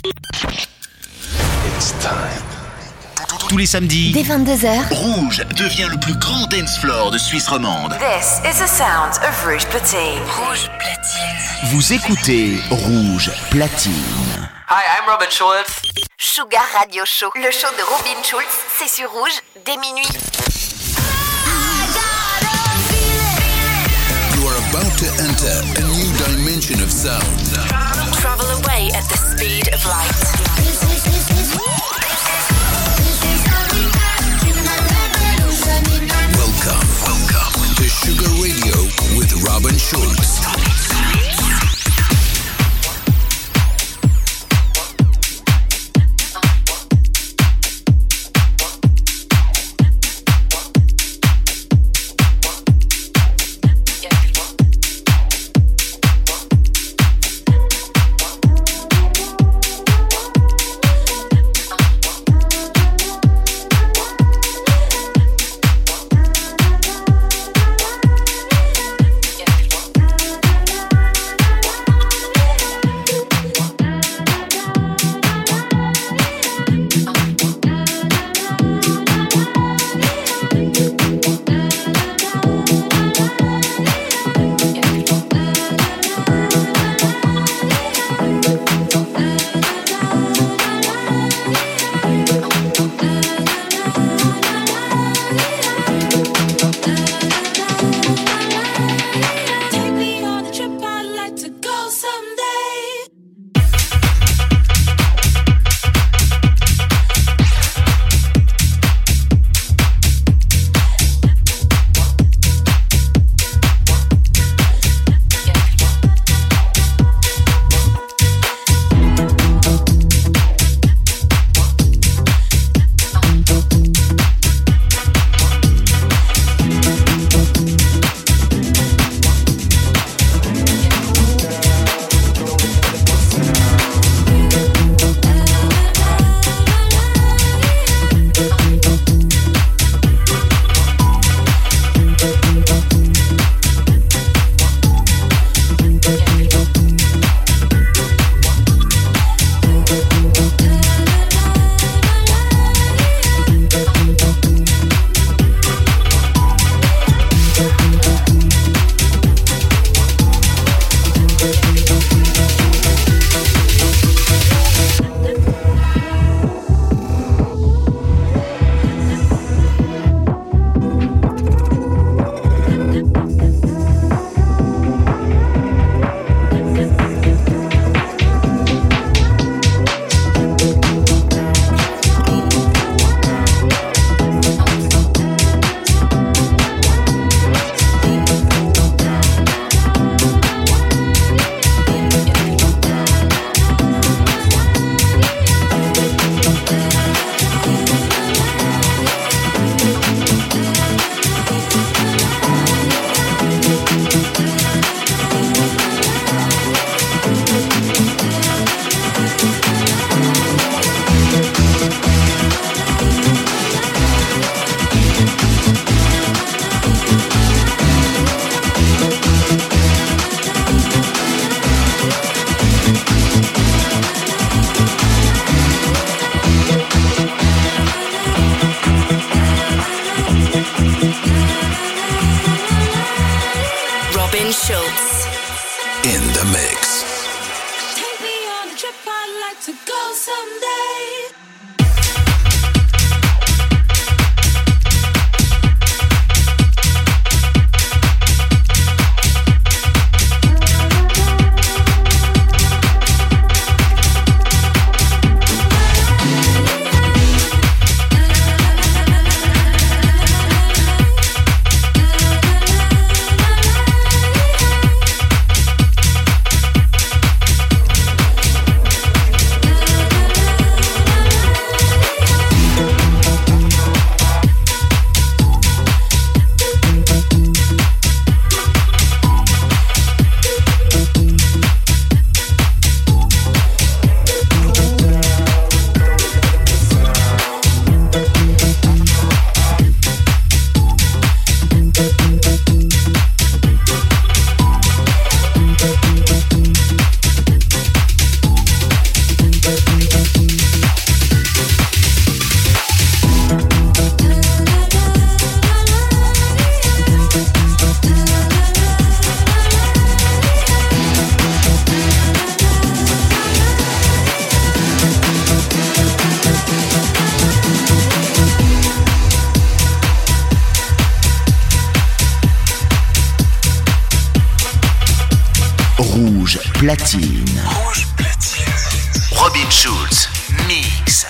It's time. Tous les samedis, dès 22h, Rouge devient le plus grand dance floor de Suisse romande. This is the sound of Rouge Platine. Rouge Platine. vous écoutez Rouge Platine. Hi, I'm Robin Schulz. Sugar Radio Show, le show de Robin Schulz, c'est sur Rouge, dès minuit. You are about to enter a new dimension of sound. Travel away at the speed of light. Welcome to Sugar Radio with Robin Schulz. Robin Schulz. In the mix. Take me on a trip I'd like to go someday. platine. Rouge platine. Robin Schulz, mix.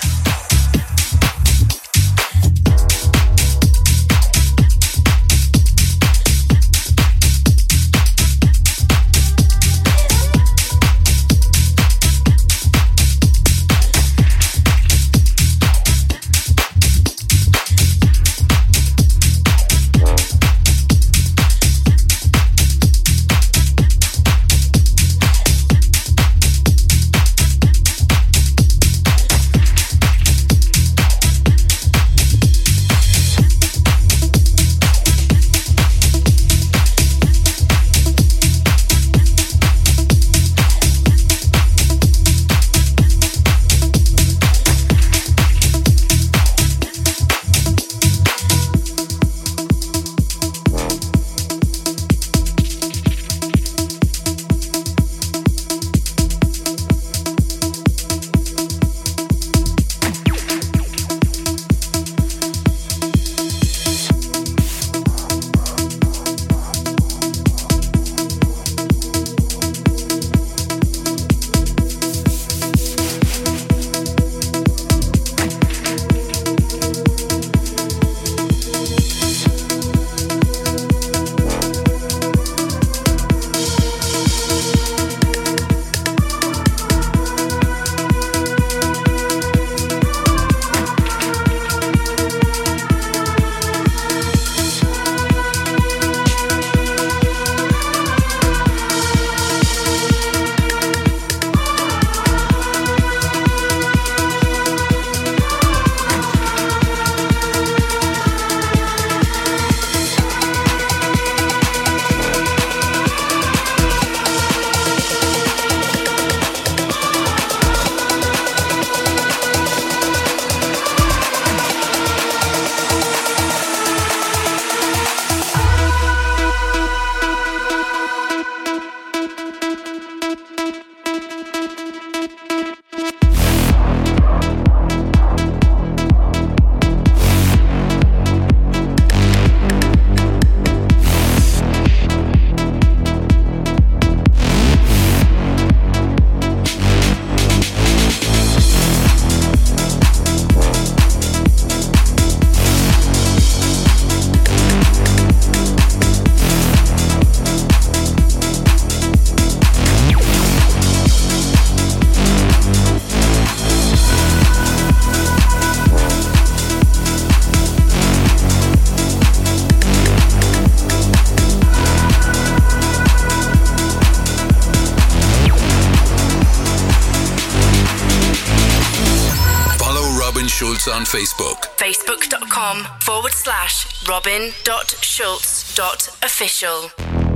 On Facebook. Facebook.com/Robin.Schulz.official.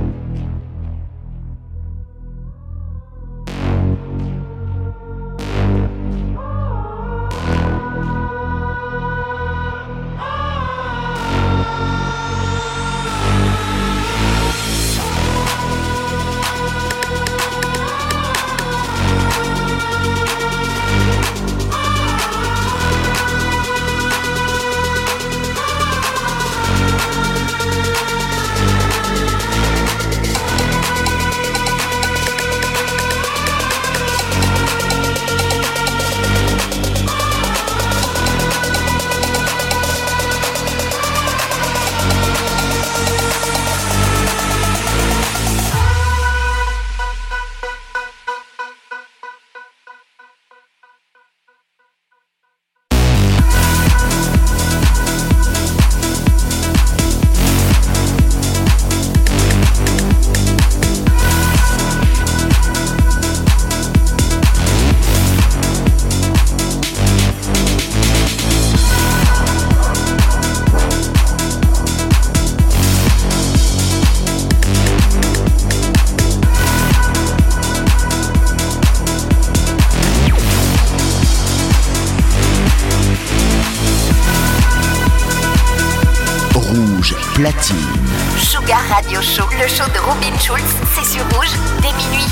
Platine. Sugar Radio Show, le show de Robin Schulz, c'est sur Rouge, dès minuit.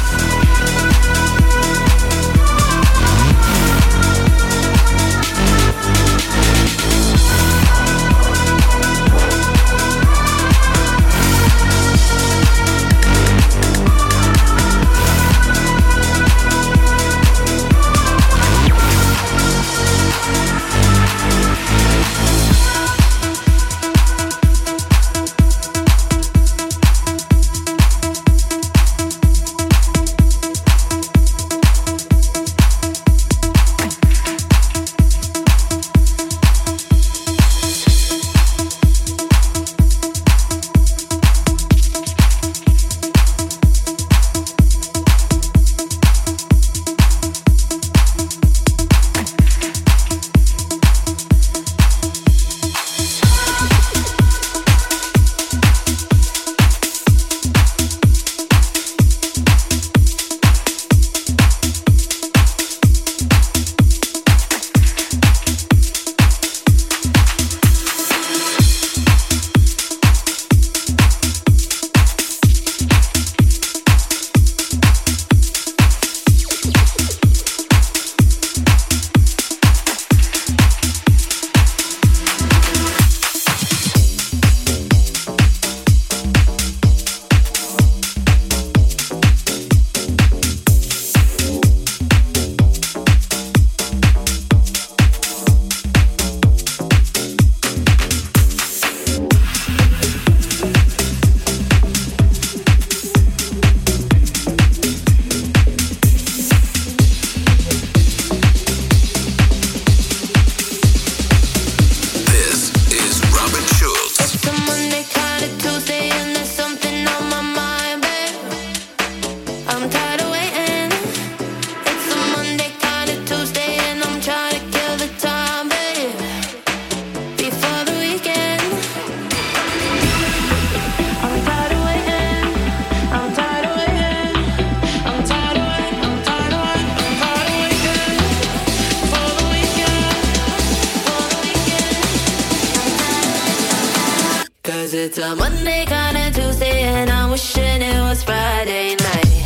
a Monday, kinda Tuesday, and I'm wishing it was Friday night.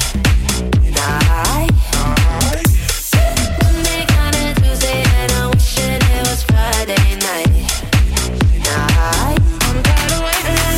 Monday, kinda Tuesday, and I'm wishing it was Friday night. I'm tired of waiting.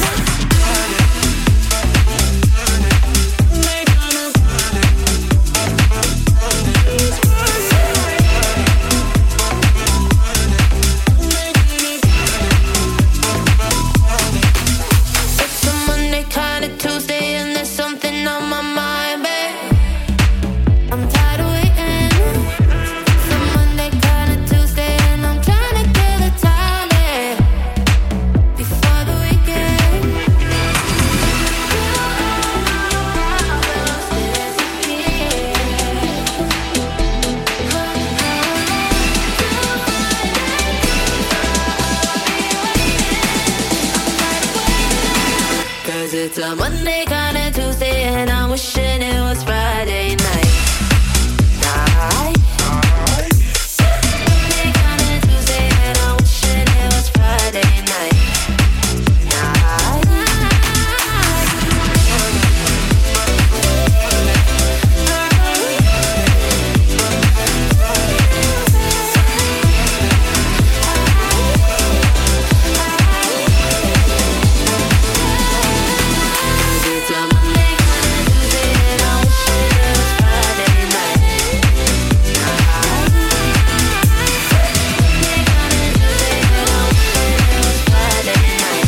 It's a Monday, kinda Tuesday, and there's something on my mind, babe. I'm tired of waiting. It's a Monday, kinda Tuesday, and I'm trying to kill the time, babe, before the weekend. Cause it's a Monday, kinda Tuesday, and I'm wishing it was Friday night. Monday, kinda Tuesday, and I'm wishing it was Friday night. It's a Monday, kinda Tuesday, and I'm wishing it was Friday night. Monday, kinda Tuesday, and I'm wishing it was Friday night.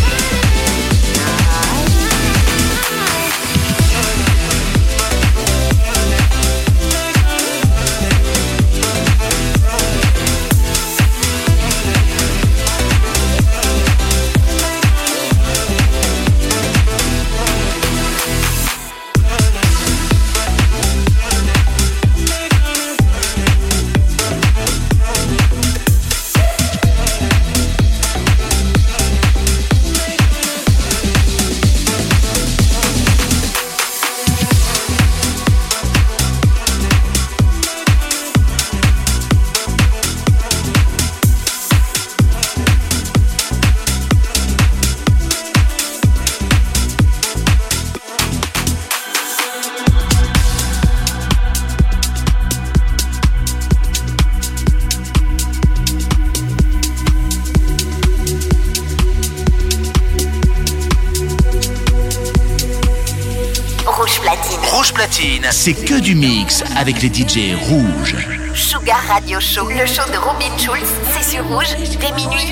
Rouge Platine. Rouge Platine, c'est que du mix avec les DJ rouges. Sugar Radio Show. Le show de Robin Schulz, c'est sur Rouge, dès minuit.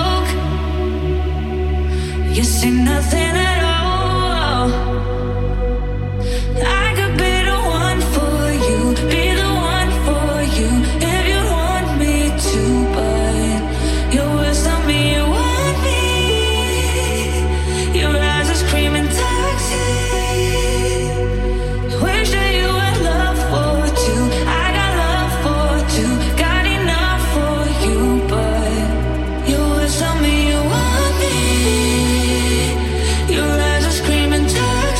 You say nothing at all. I could be the one for you, be the one for you, if you want me to, but your words tell me you want me. Your eyes are screaming toxic. Wish that you had love for two. I got love for two, got enough for you, but your words tell me you want me. Your eyes are screaming toxic.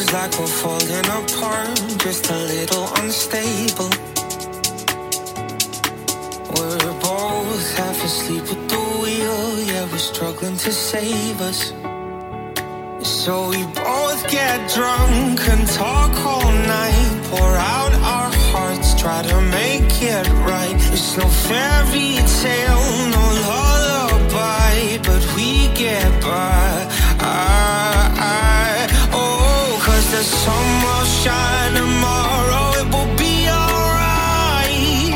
feels like we're falling apart, just a little unstable. We're both half asleep at the wheel, yeah, we're struggling to save us. So we both get drunk and talk all night, pour out our hearts, try to make it right. It's no fairy tale, no lullaby, but we get by. Oh, 'cause the sun will shine tomorrow, it will be alright.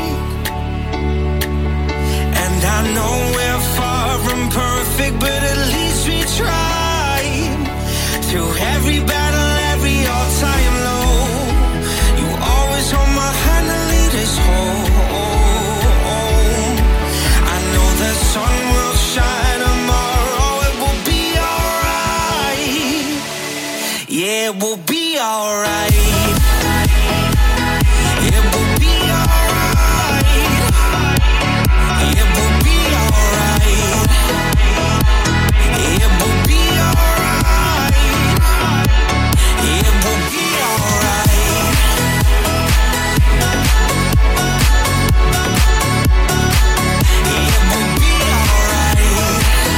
And I know we're far from perfect, but at least we tried. Through every battle, every all-time low, you always hold my hand and lead us home. I know the sun will shine tomorrow, it will be alright. Yeah, it will be alright. It will be alright. It will be alright. It will be alright. It will be alright. It will be alright.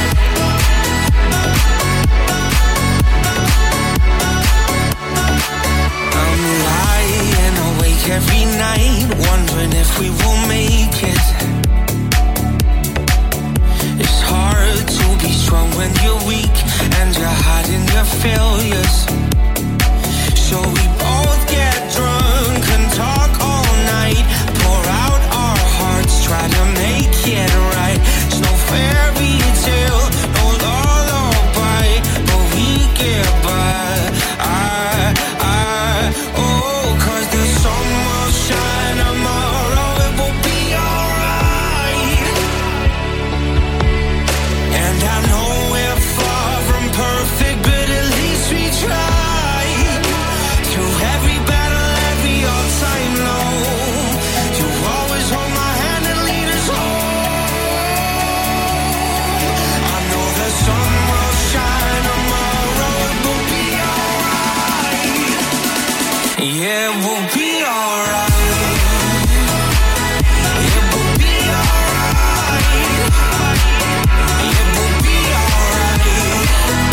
I'm lying awake every night, wondering if we will make it. It's hard to be strong when you're weak and you're hiding your failures. So we both get drunk and talk all night, pour out our hearts, try to make it right. It's no fairy tale, no lullaby, but we get by. Oh, 'cause the sun will shine tomorrow, it will be alright. And I know we're far from perfect, but at least we tried. Through every battle, every all-time low, you always hold my hand and lead us home. I know the sun will shine tomorrow, it will be alright. Yeah, it will be alright. It will be alright. It will be alright.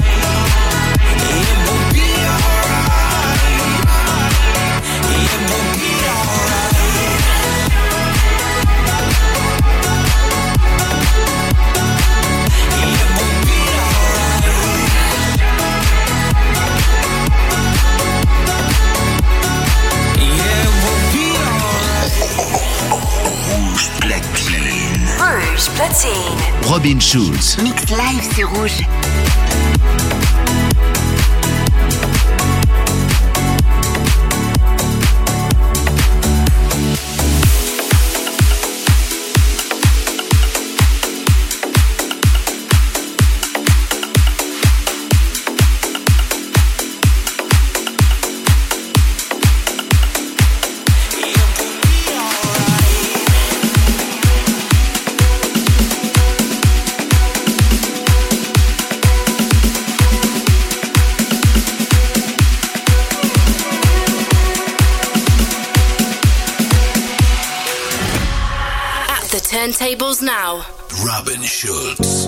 It will be alright. It will be alright. It will be alright. Yeah, it will be alright. Rouge platine. Rouge platine. Robin Schulz. Mix live sur Rouge. Turntables now. Robin Schulz.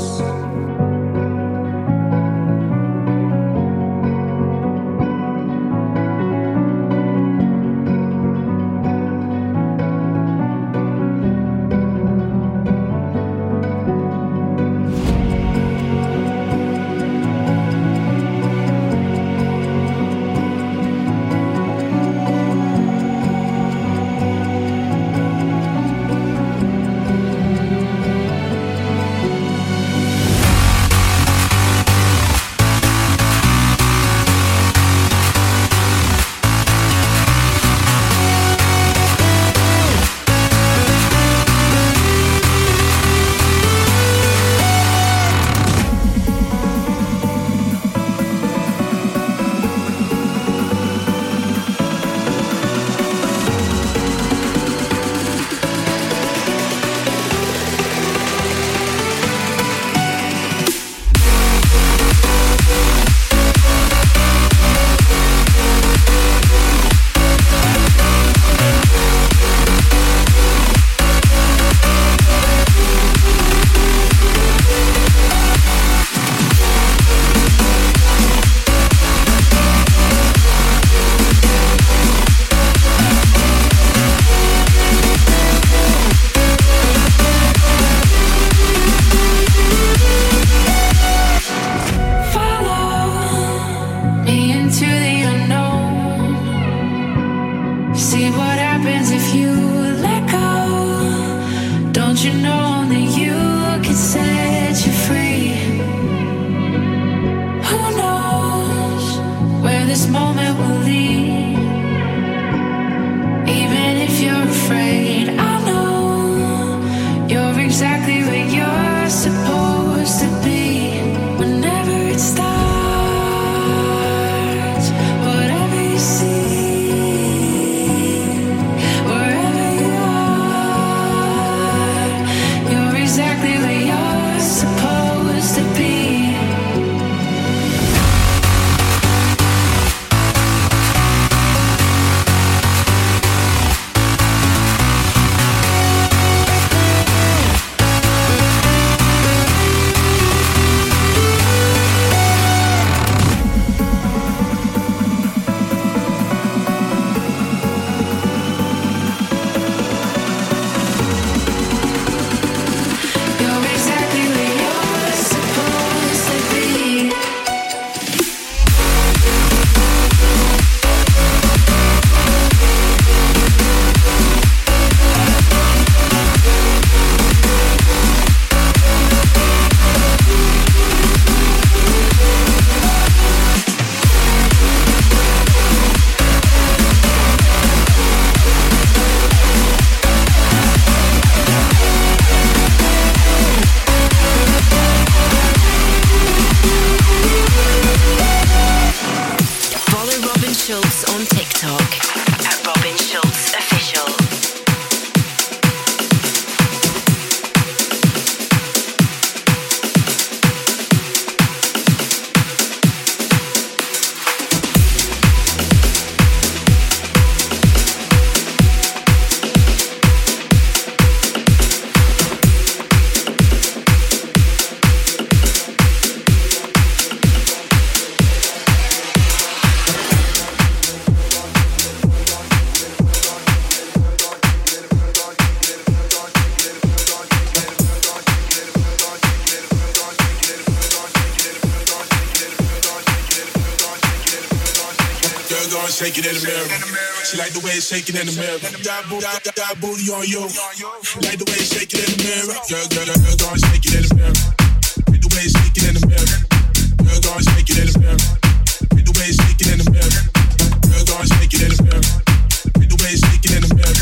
Shaking in the mirror. She like the way it's shaking in the mirror. Got booty on you. Like the way it's shaking in the mirror. Girl, gone shaking in the mirror. Like the way it's shaking in the mirror. Girl, gone shaking in the mirror. Like the way it's shaking in the mirror. Girl, gone shaking in the mirror. Like the way it's shaking in the mirror.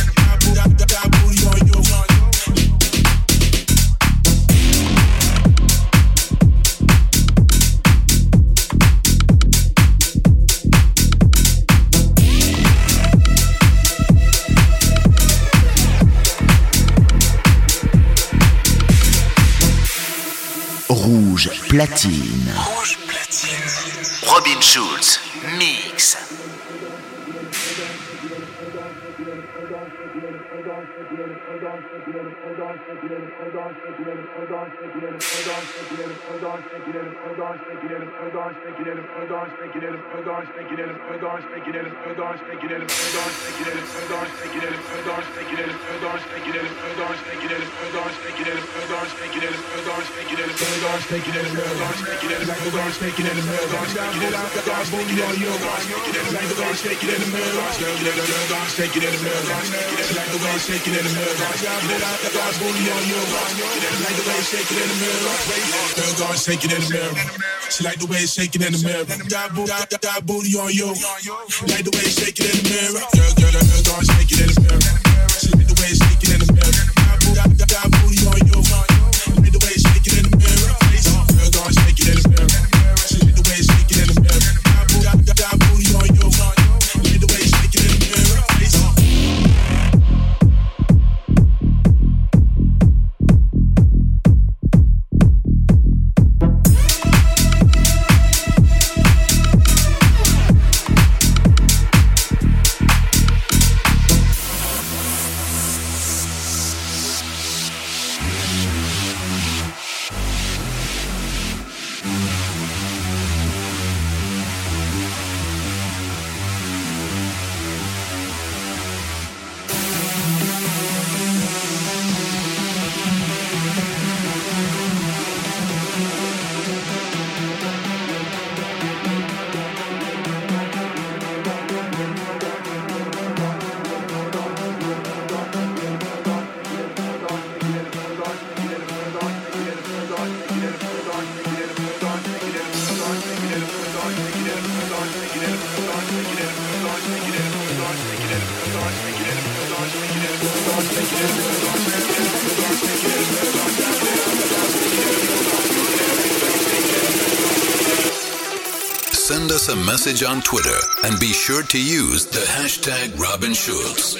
Got booty on you. Rouge Platine. Rouge Platine. Robin Schulz, mix. Shaking in the mirror. She like the way it's shaking in the mirror. Got booty on you. Like the way it's shaking in the mirror. Girl, gone shaking in the mirror. She like the way it's shaking in the mirror. Got booty on you. Like the way it's shaking in the mirror. Girl, gone shaking in the mirror. She like the way it's shaking in the mirror. Got booty on you. Like the way it's shaking in the mirror. us a message on Twitter and be sure to use the hashtag Robin Schulz.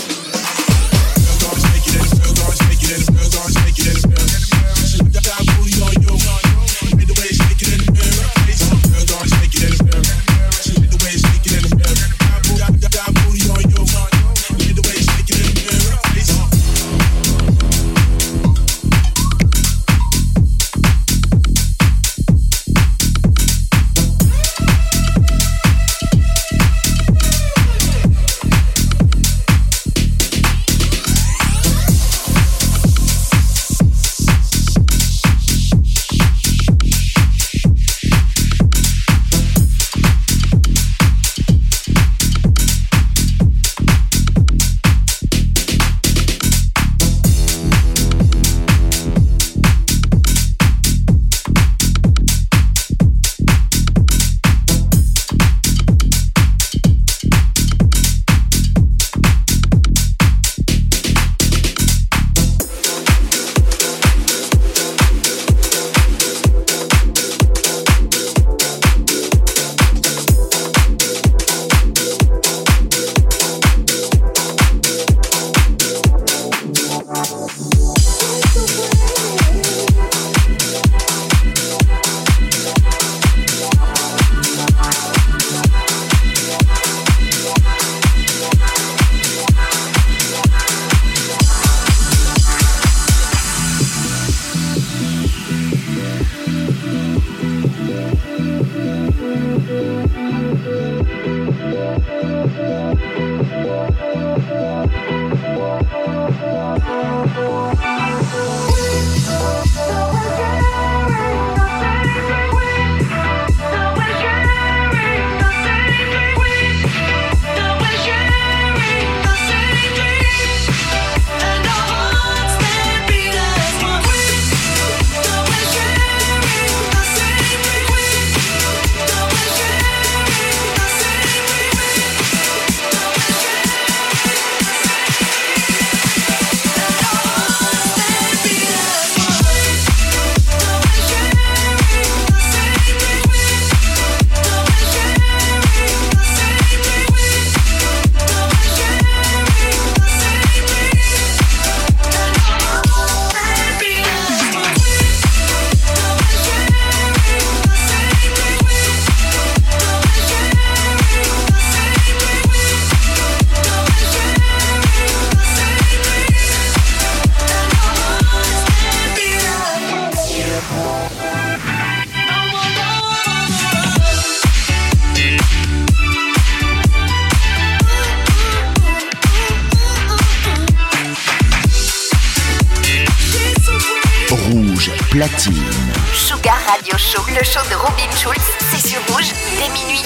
Platine. Sugar Radio Show, le show de Robin Schulz, c'est sur Rouge, dès minuit.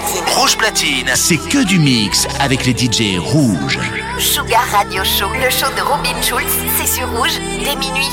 Rouge Platine, c'est que du mix avec les DJ rouges. Sugar Radio Show, le show de Robin Schulz, c'est sur Rouge dès minuit.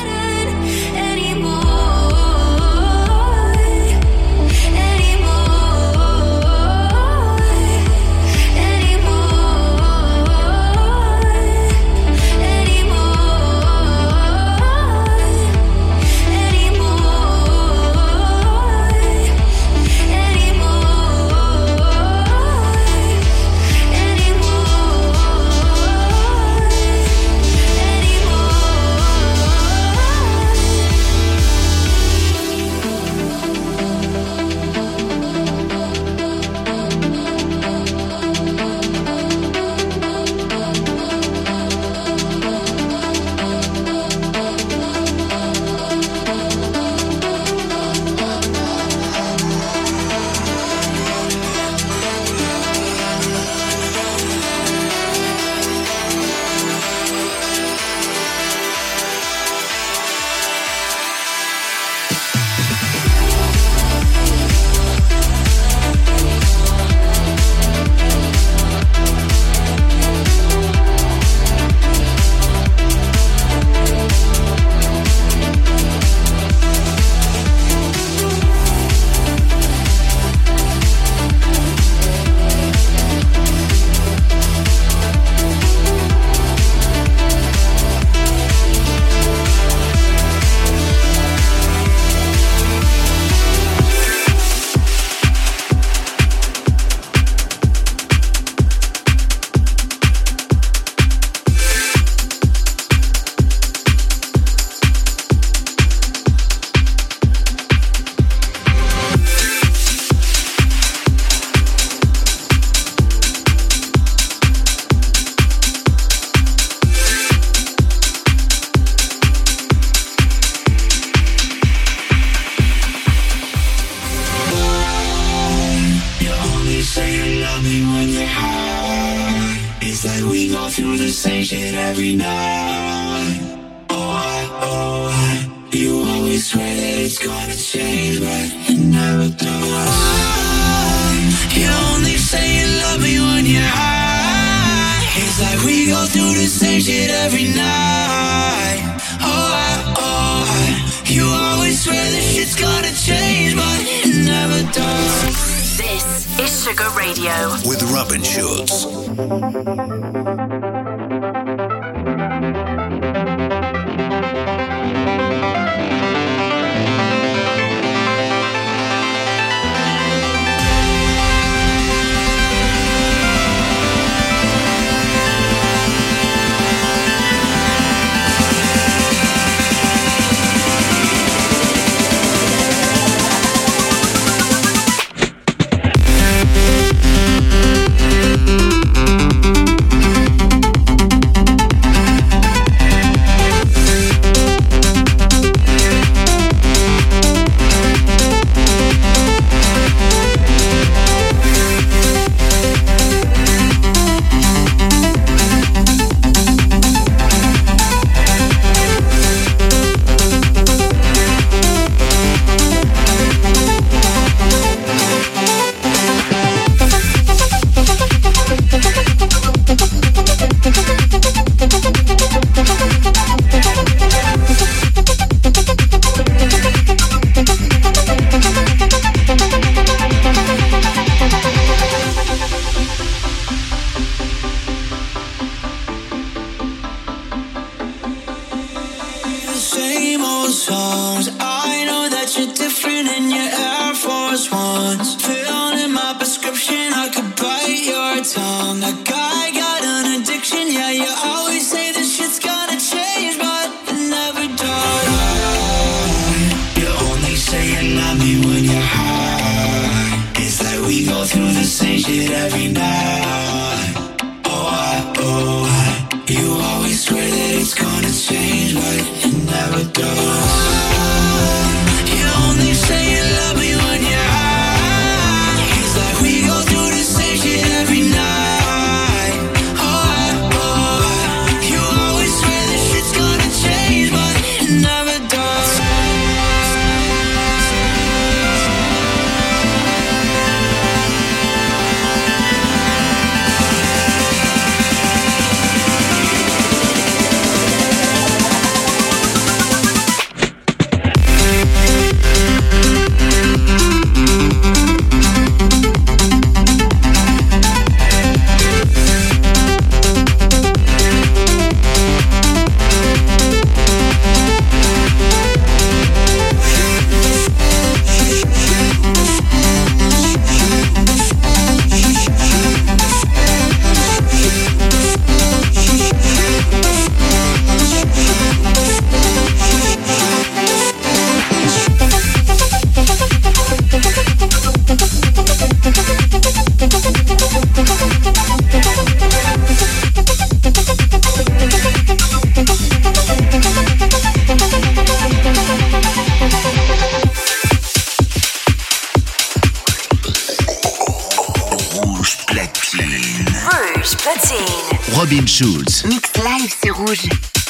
With Robin Schulz. Robin Schulz. Mix live sur Rouge.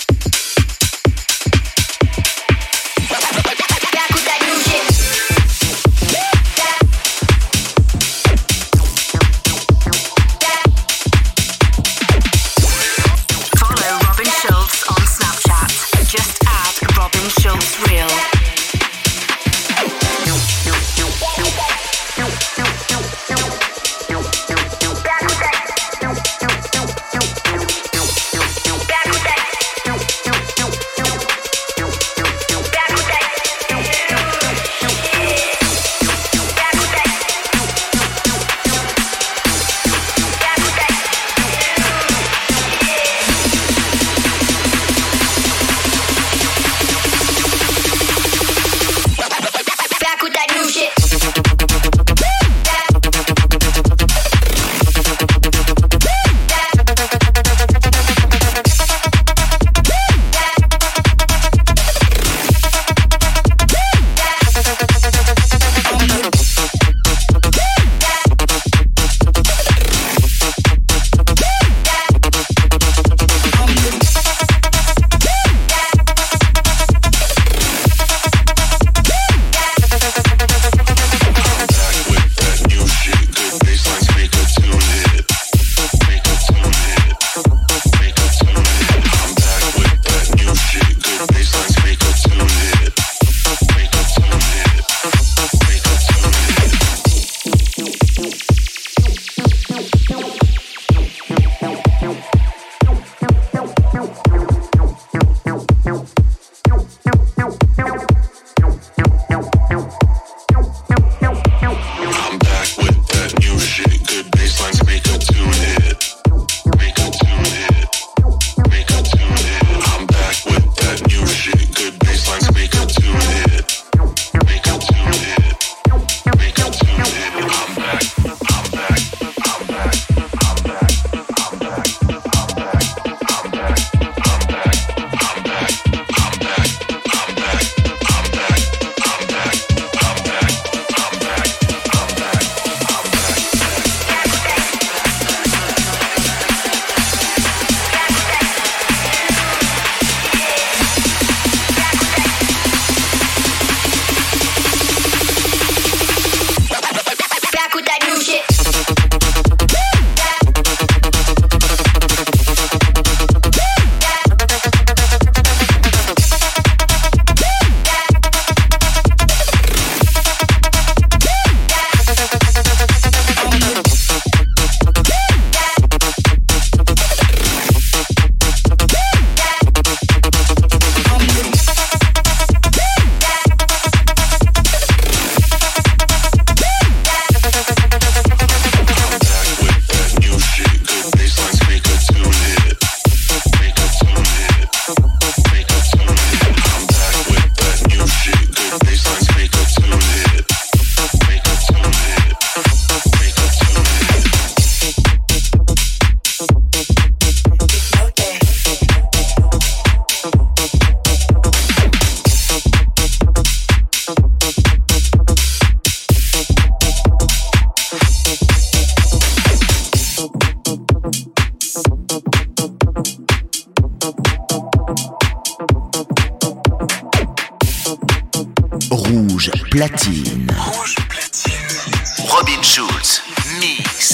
Rouge Platine. Rouge Platine. Robin Schulz. Mix.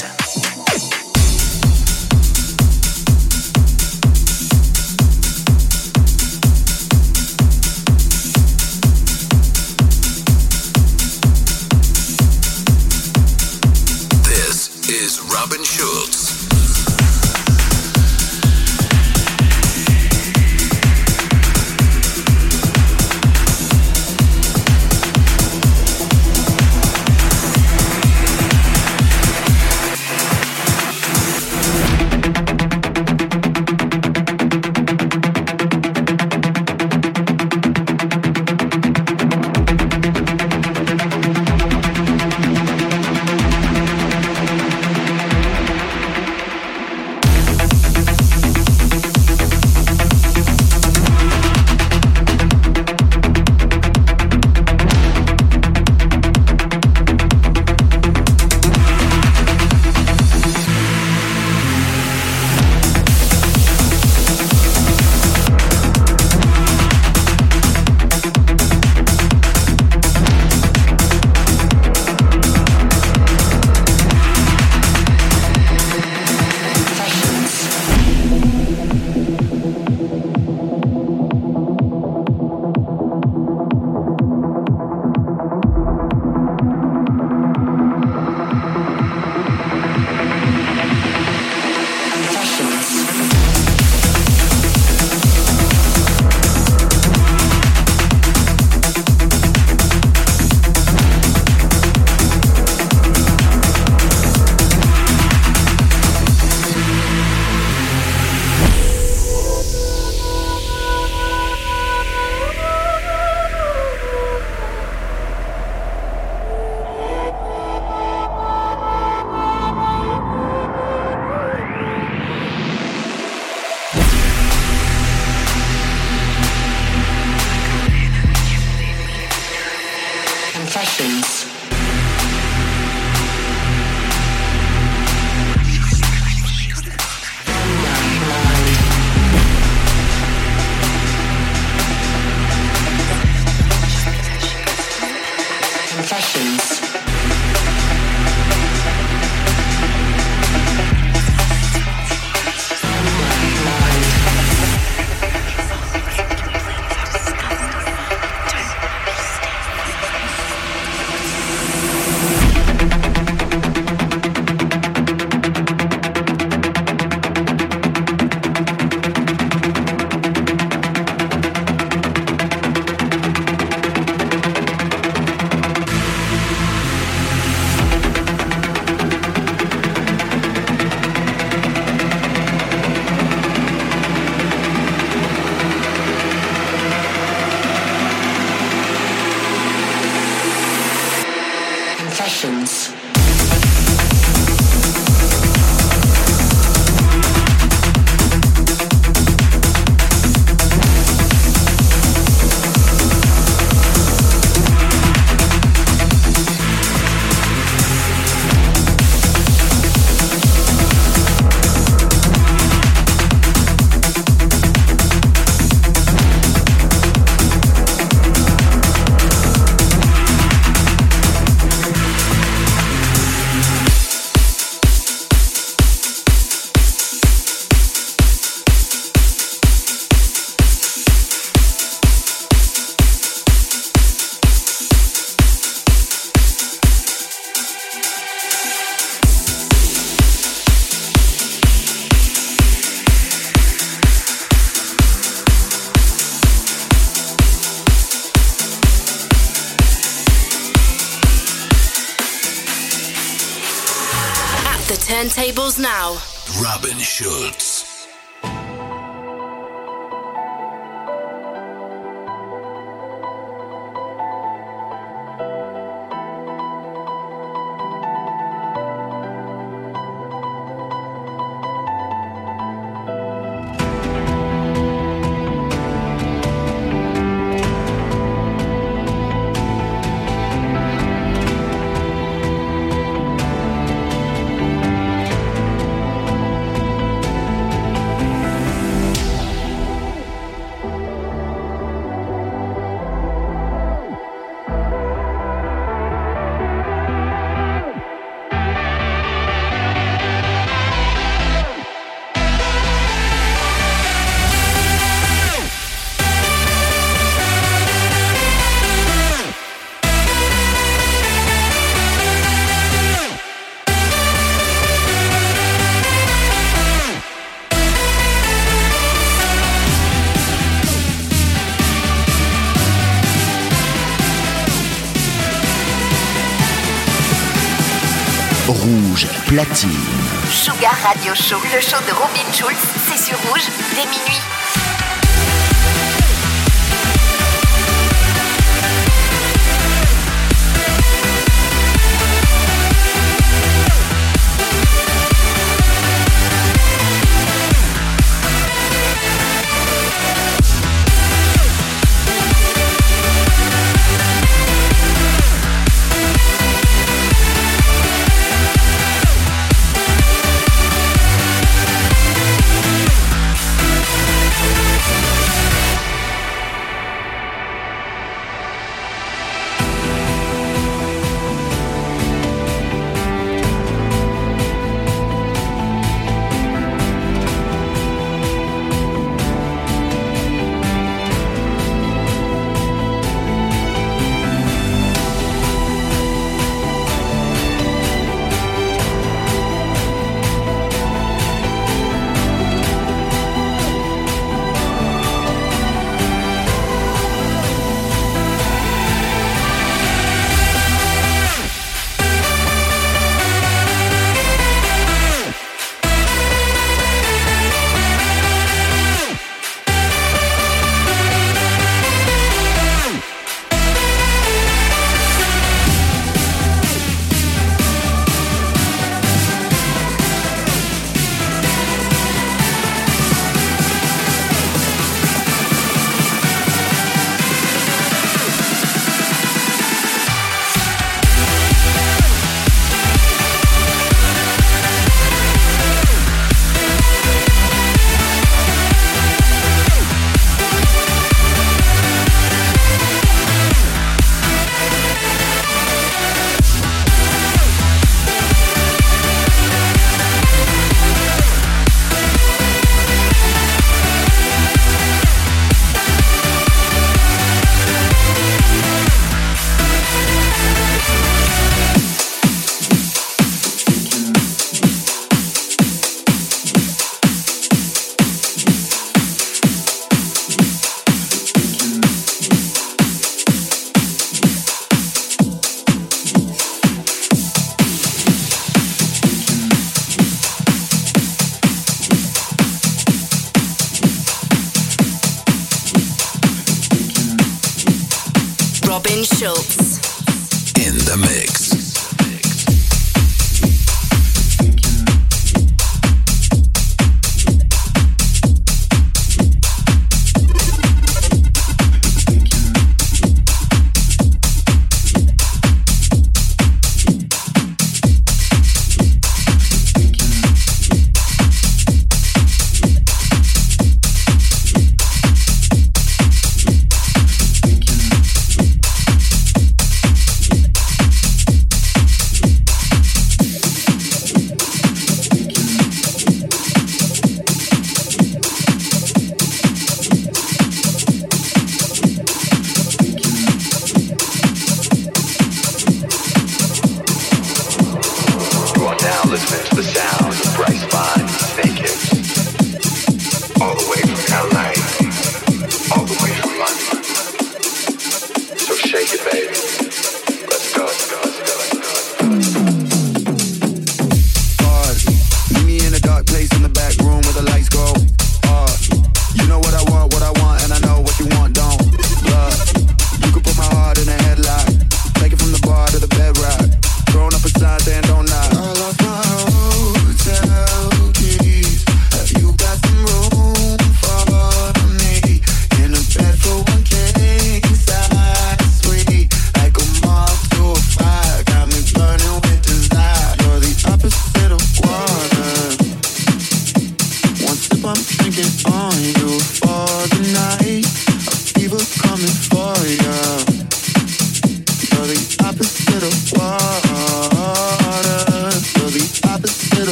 This is Robin Schulz. turntables now. Robin Schulz. Rouge platine. Sugar Radio Show, le show de Robin Schulz, c'est sur Rouge dès minuit. Robin Schulz. In the mix.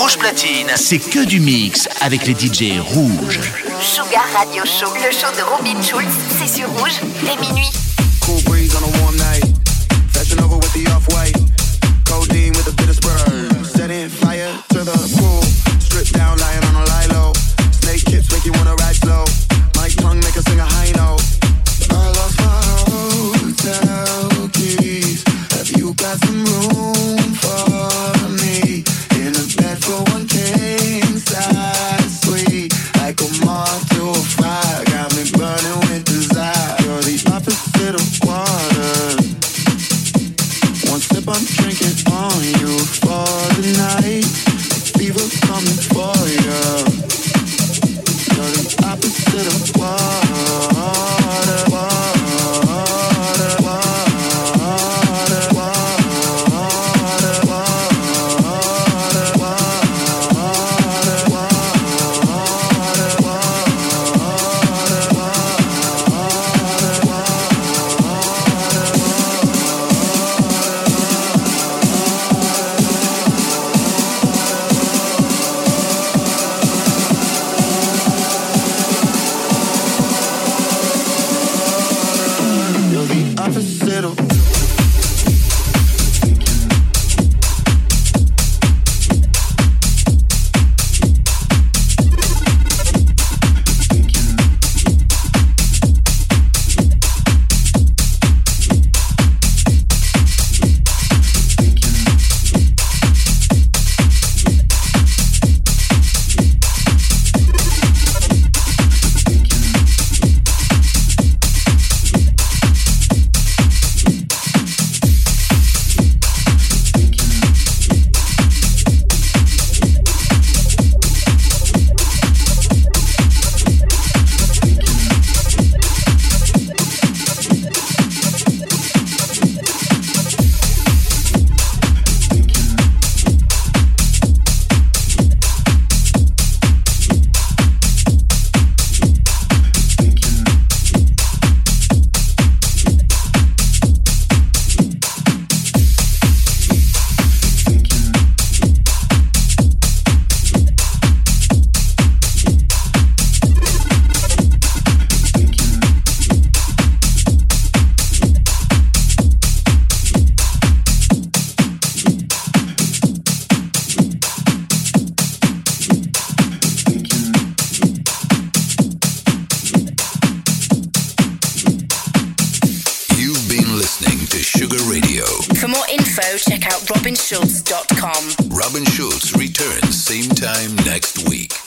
Rouge Platine. C'est que du mix avec les DJ rouges. Sugar Radio Show, le show de Robin Schulz, c'est sur Rouge, dès minuit. Cool breeze on a warm night. Fashion over with the off-white. Codeine with a bit of Sprite. Setting fire to the pool. Strip down, lying on a lilo. Snake hips make you wanna ride slow. My tongue make her sing a high note. I lost my hotel keys. Have you got some room for me? In a bed for one king size suite. Like a moth to a fire. Got me burning with desire. You're the opposite of water. One sip I'm drinking on you for the night. Fever coming for you. You're the opposite of water. Water, water, water, water, opposite of Check out robinschulz.com. Robin Schulz returns same time next week.